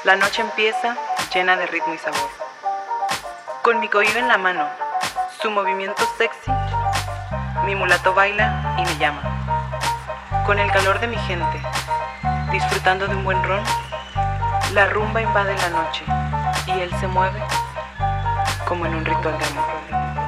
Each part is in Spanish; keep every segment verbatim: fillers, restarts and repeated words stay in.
La noche empieza llena de ritmo y sabor. Con mi cohíba en la mano, su movimiento sexy, mi mulato baila y me llama. Con el calor de mi gente, disfrutando de un buen ron, la rumba invade la noche y él se mueve como en un ritual de amor.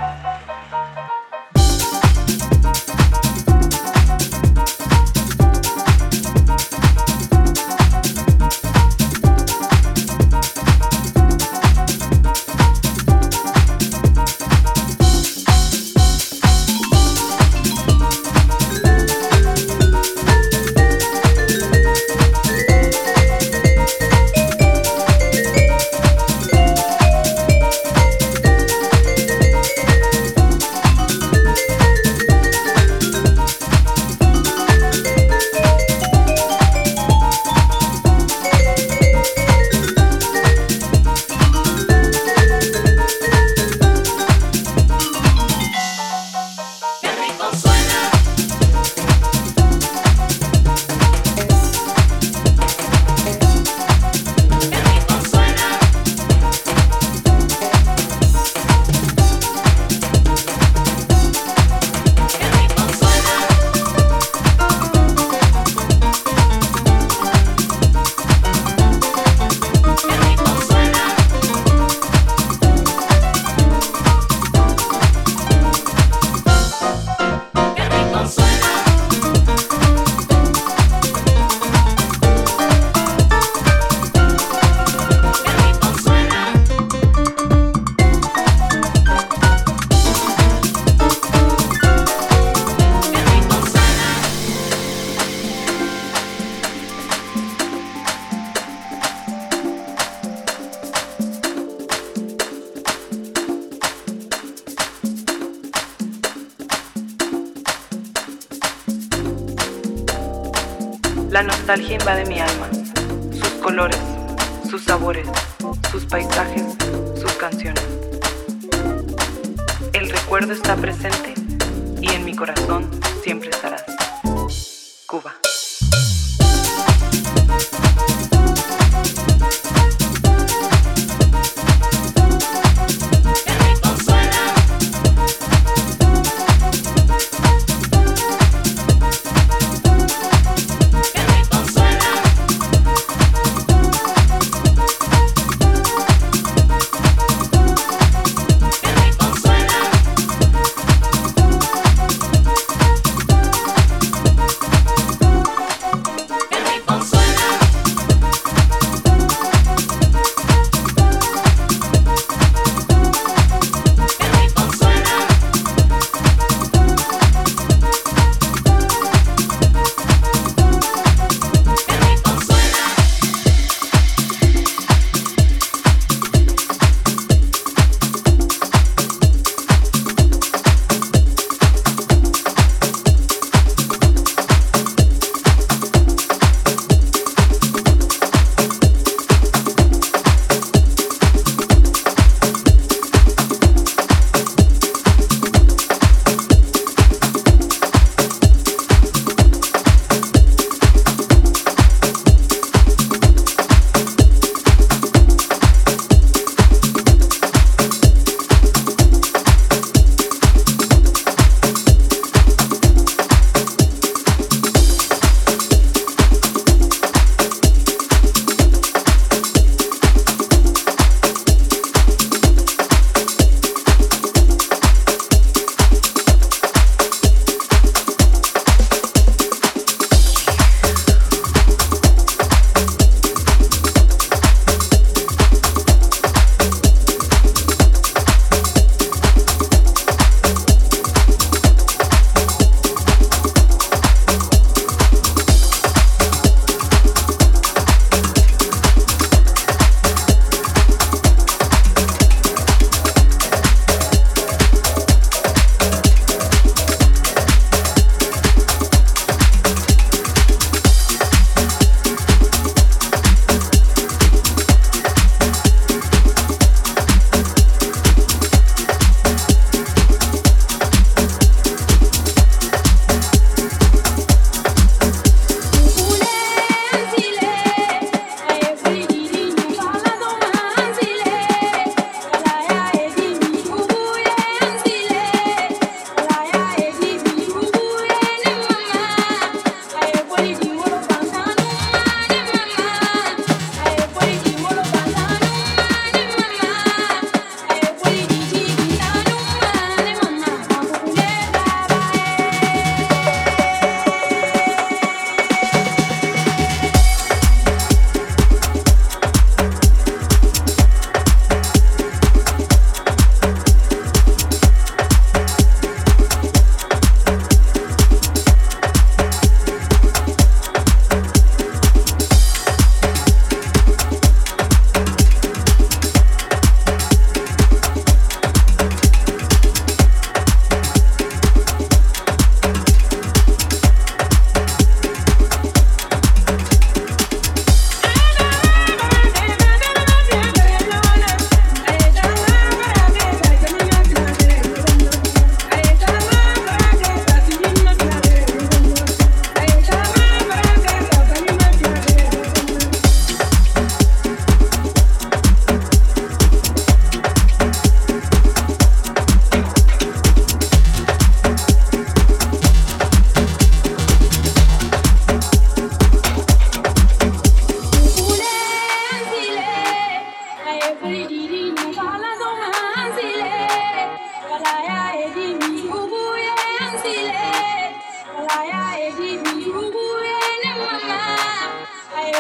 La nostalgia invade mi alma, sus colores, sus sabores, sus paisajes, sus canciones. El recuerdo está presente y en mi corazón siempre estarás. Cuba.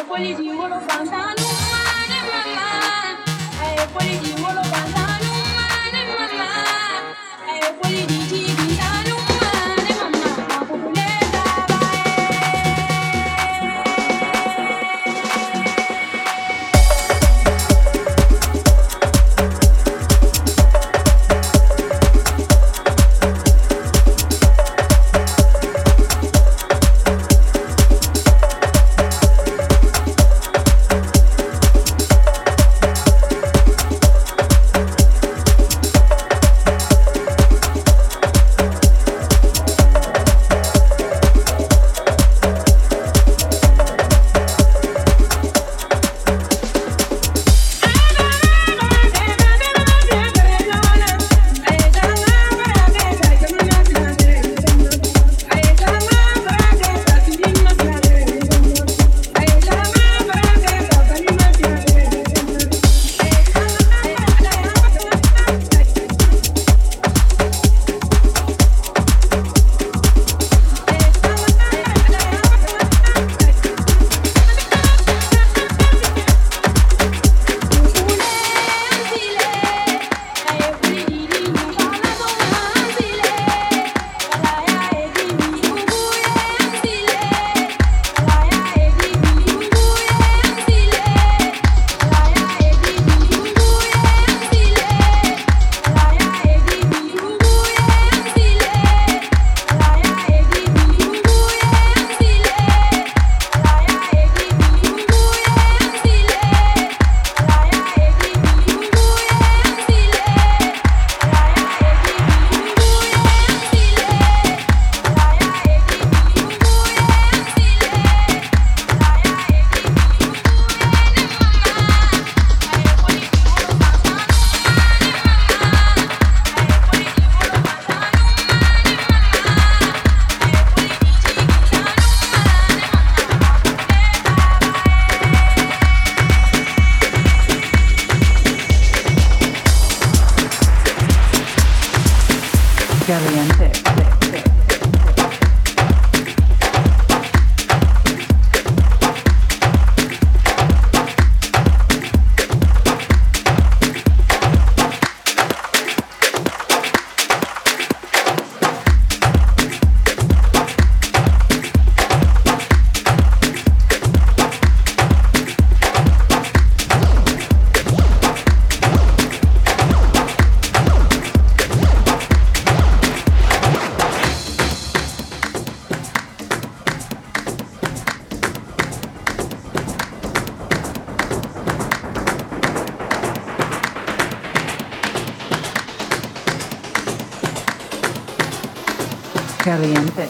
Caliente.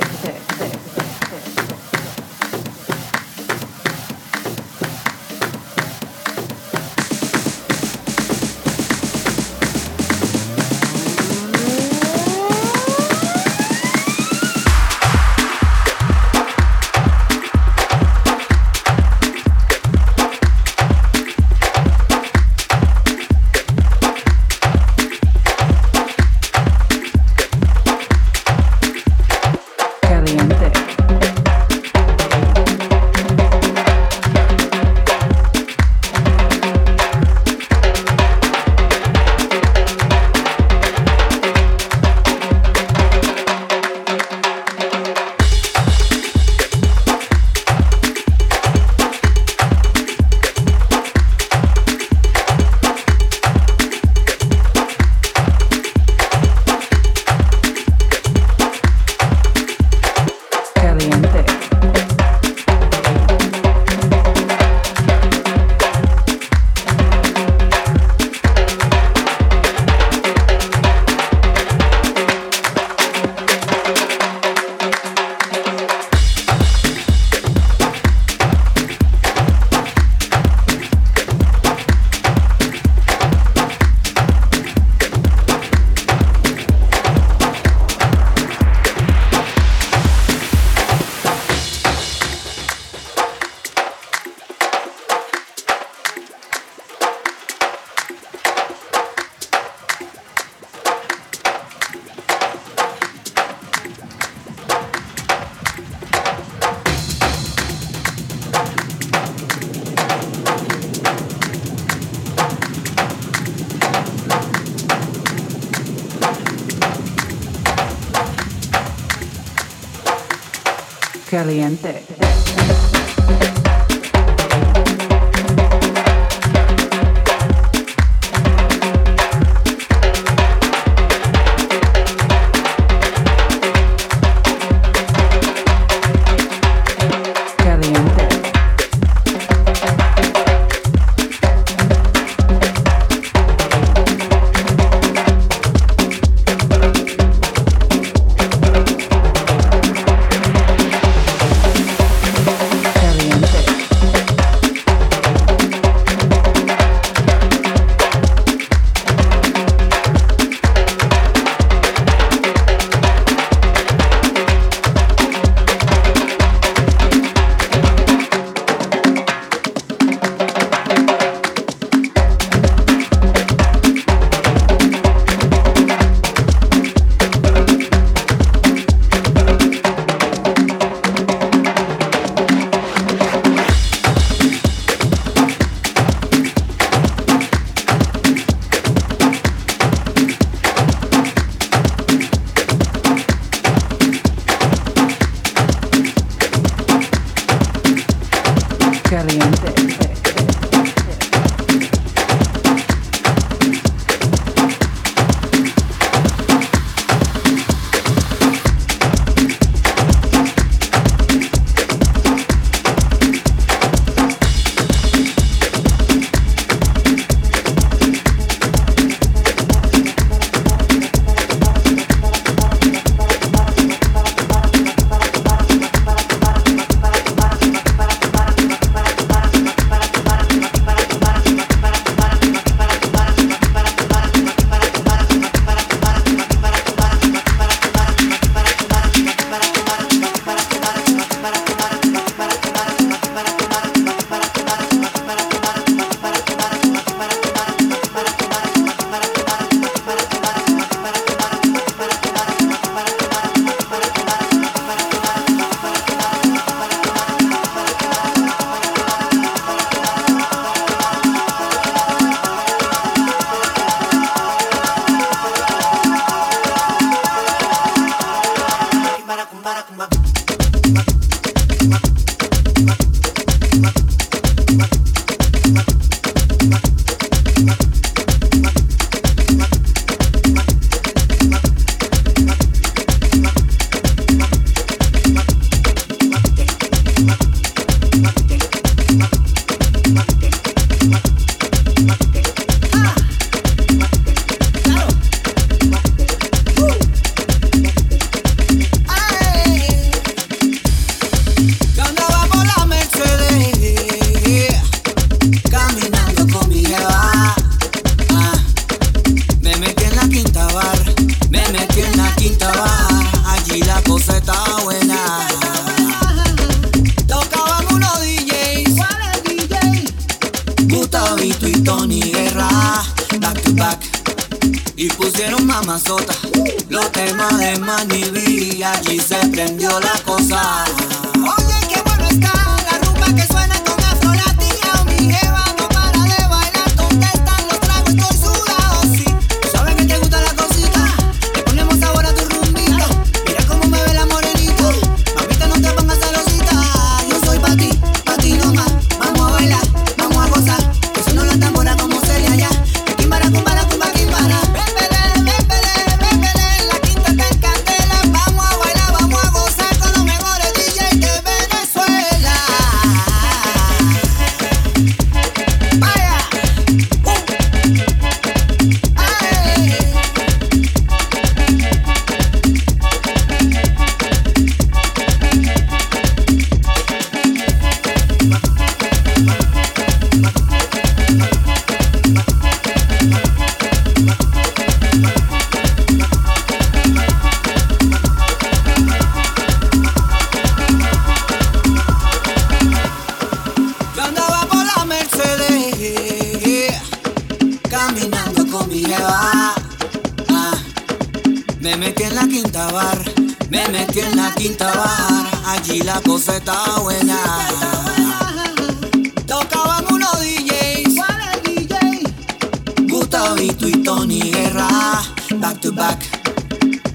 Caliente. Caliente.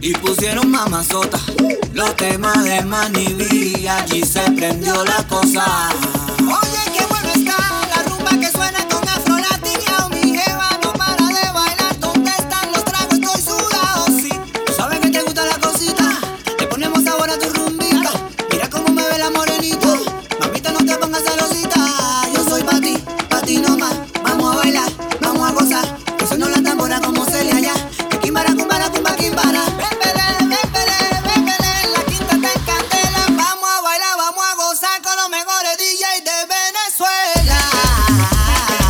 y pusieron mamazota. Los temas de Manny B, allí se prendió la cosa. Oye, qué bueno está la rumba que suena con Afro Latina. Mi jeva no para de bailar. ¿Dónde están los tragos? Estoy sudado, sí. ¿Sabes que te gusta la cosita? Le ponemos sabor a tu rumbita. Mira cómo me ve la morenita. Mamita, no te pongas celosita. Yo soy pa' ti, pa' ti nomás. Vamos a bailar, vamos a gozar. Que suena la tambora como se le allá. Que quimbara, cumbara, cumba, quimbara. Con los mejores D Js de Venezuela.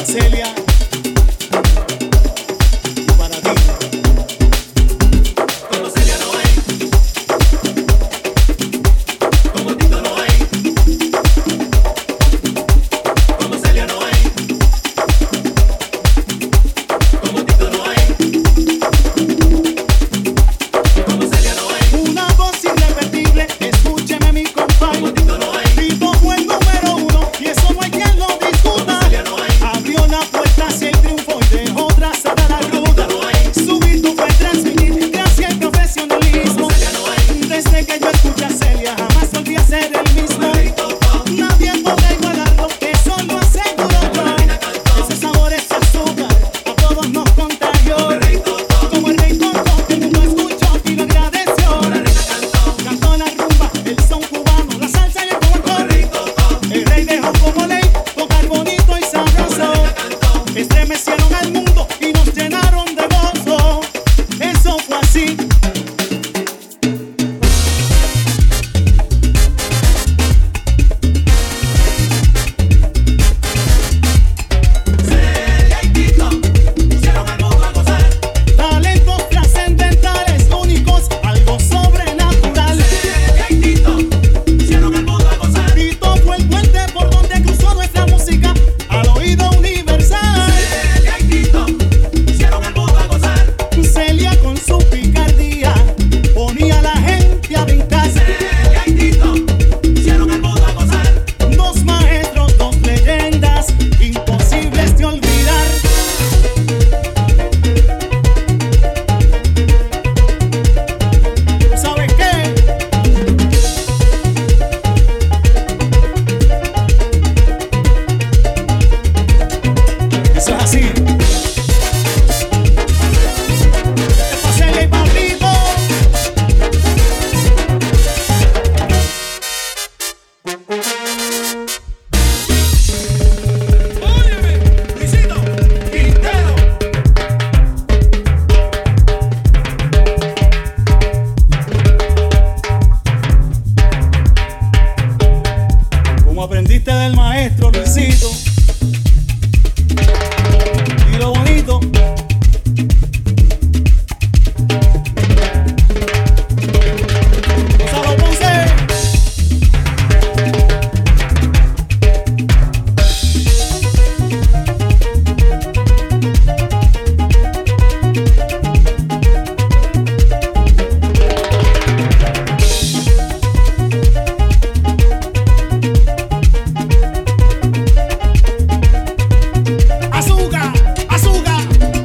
Celia. Y para ti. Como Celia no hay, como Tito no hay, como Celia no hay, como Tito no hay, como Celia no hay. Una voz irrepetible, escúcheme mi compadre. Como Tito no hay. Tito fue el número uno y eso no hay quien lo discuta. Como Celia no hay. Abrió la puerta hacia el triunfo y dejó trazada la ruta. no hay. Su virtud fue transmitir gracia y profesionalismo. Como Celia no hay. Desde que yo escuché a Celia jamás volví a ser el mismo. Nadie podrá igualarlo, eso lo aseguro yo. Ese sabor, ese azúcar, a todos nos contagió. Como el rey Toto, el mundo escuchó y lo agradeció. Cantó la rumba, el son cubano, la salsa y el folclore. El rey dejó como ley tocar bonito y sabroso. Estremecieron al mundo y nos llenaron de gozo. Eso fue así. Celia y Tito pusieron al mundo a gozar. Talentos trascendentales, únicos, algo sobrenatural. Celia y Tito pusieron al mundo a gozar. Tito fue el puente por donde cruzó nuestra música al oído universal. Celia y Tito pusieron al mundo a gozar. Celia con su picardía ponía a la gente a brincar. Celia y Tito pusieron al mundo a gozar. Dos maestros, dos leyendas, imposibles de olvidar. ¿Sabes qué? Eso es así. Es pa' Celia y pa' Tito. Óyeme, Luisito, Quintero. Como aprendiste del maestro Luisito. Y lo bonito. Gonzalo Ponce. Azúcar, azúcar.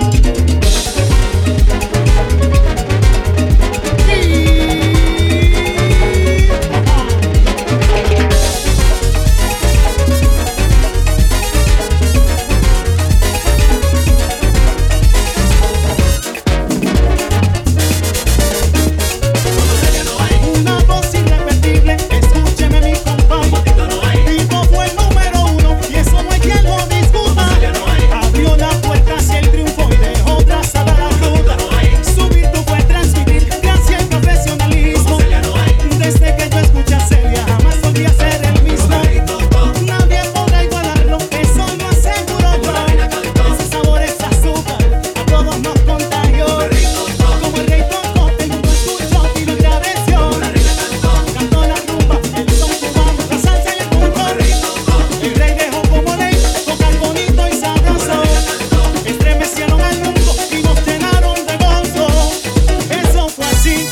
Una voz irrepetible, escúcheme mi compadre. Tito fue el número uno y eso no hay quien lo discuta. Abrió la puerta hacia el triunfo y dejó trazada la ruta. Su virtud fue transmitir gracia y profesionalismo. Desde que yo escuché a Celia jamás volví a ser el mismo. Nadie podrá igualarlo, eso lo aseguro yo. Ese sabor, ese azúcar, a todos nos contagió. Como el rey Toto, el mundo escuchó y lo agradeció. Cantó la rumba, el son cubano, la salsa y el folclore. El rey dejó como ley tocar bonito y sabroso. Estremecieron al mundo y nos llenaron de gozo. Eso fue así.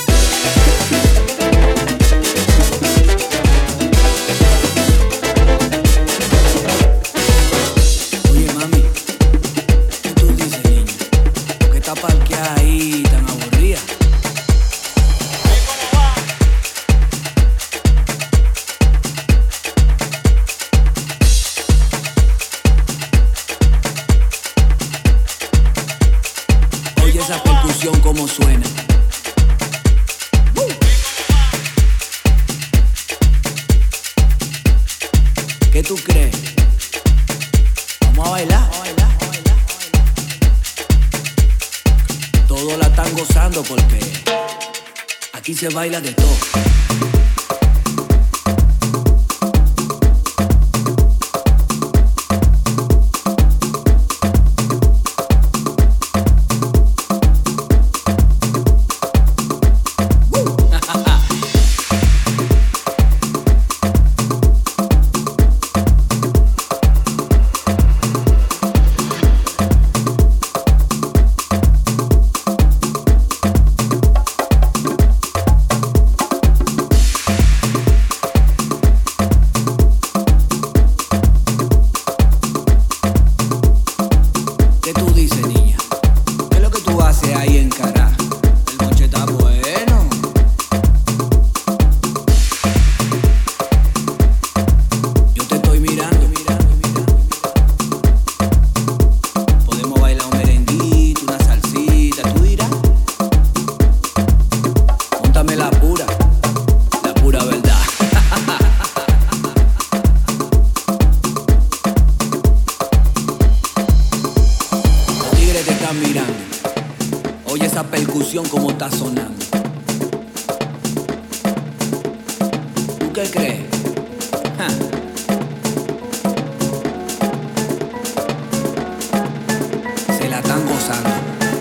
Oye, mami, ¿qué tú dices, niña? ¿Por qué está parqueada ahí tan aburrida? Oye esa percusión como suena. ¿Qué tú crees? Vamos a bailar. Todos la están gozando porque aquí se baila de todo. estás mirando. Oye esa percusión como está sonando. ¿Tú qué crees? Ja. Se la están gozando.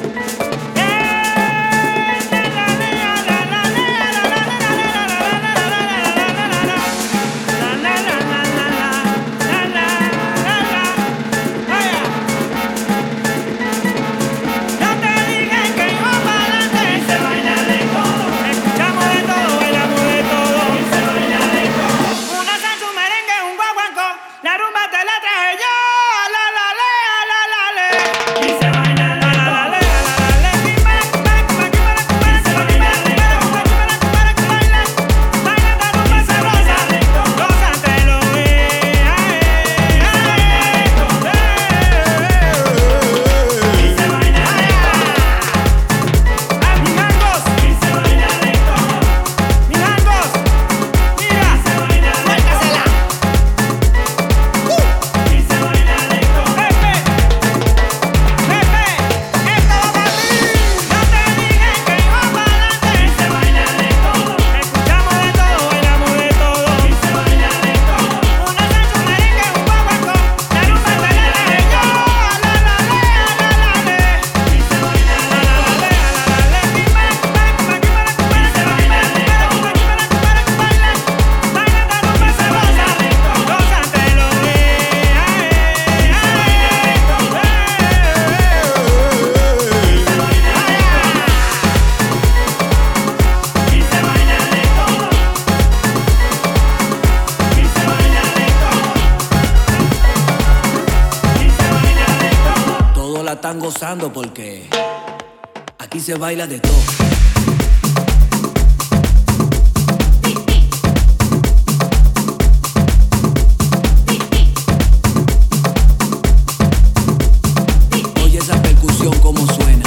Están gozando porque aquí se baila de todo. Oye esa percusión como suena.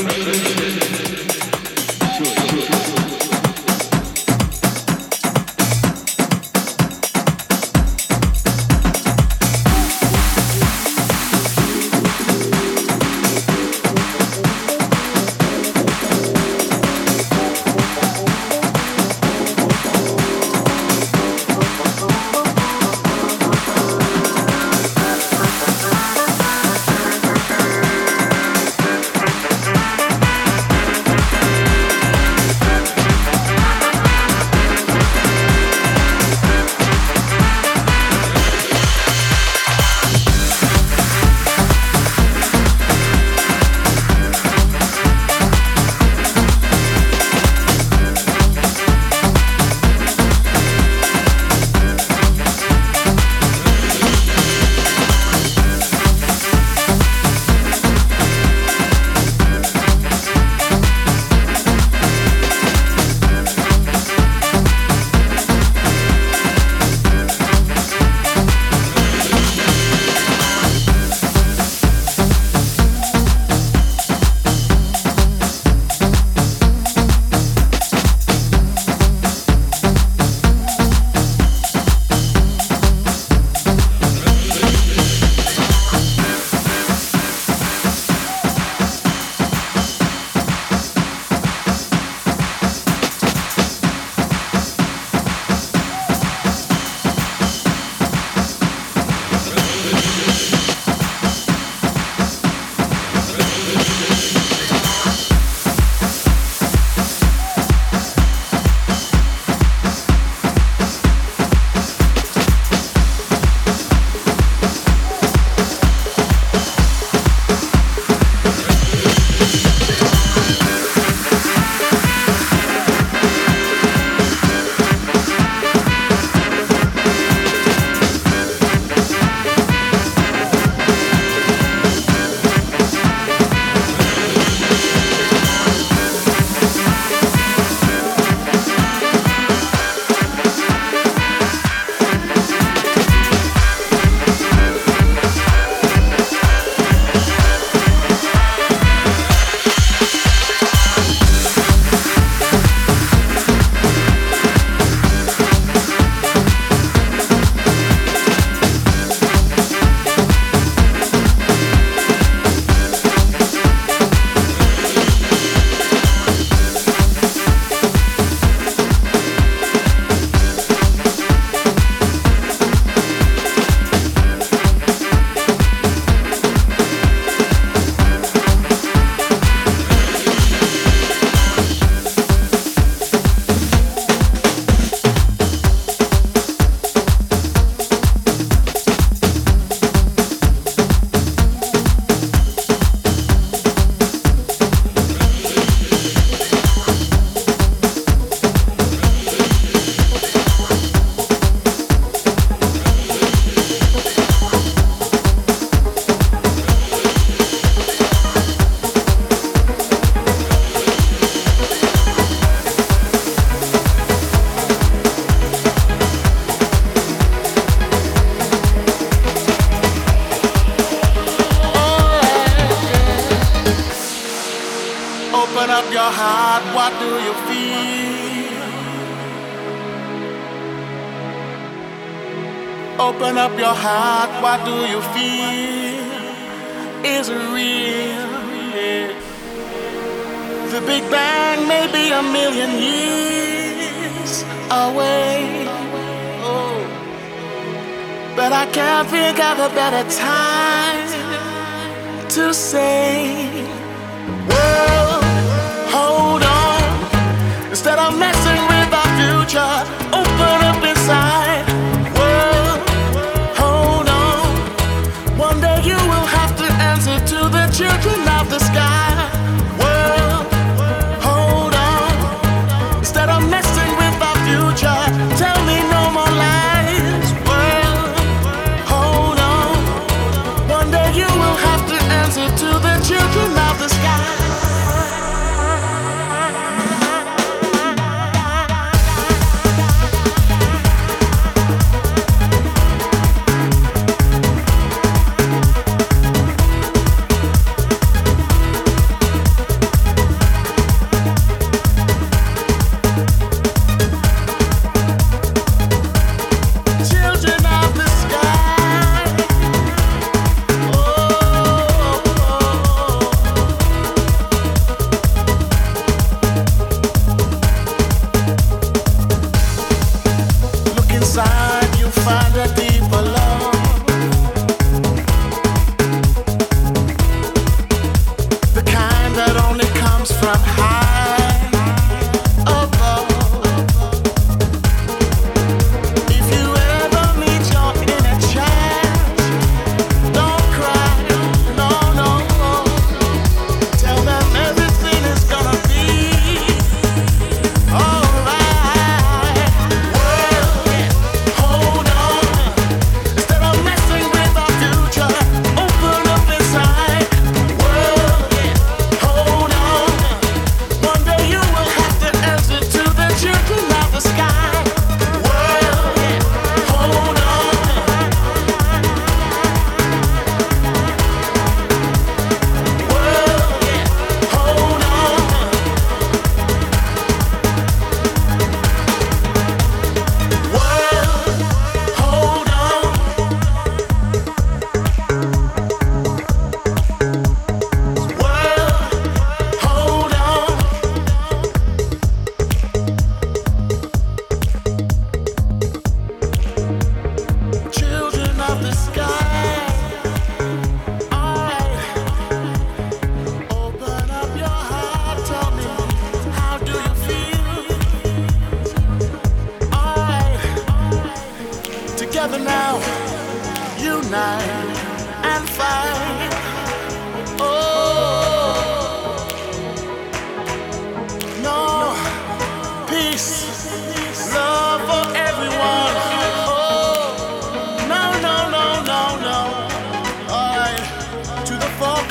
your heart, what do you feel? Open up your heart, what do you feel? Is it real? Yeah. The Big Bang may be a million years away, oh, but I can't think of a better time to say, well, hold on. Instead of messing with our future, open up inside. Well, hold on. One day you will have to answer to the children of the sky. Well, hold on. Instead of messing with our future, tell me no more lies. Well, hold on. One day you will have to answer to the children of the sky.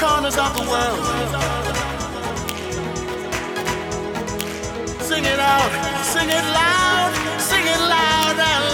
corners of the world. Sing it out, sing it loud, sing it loud and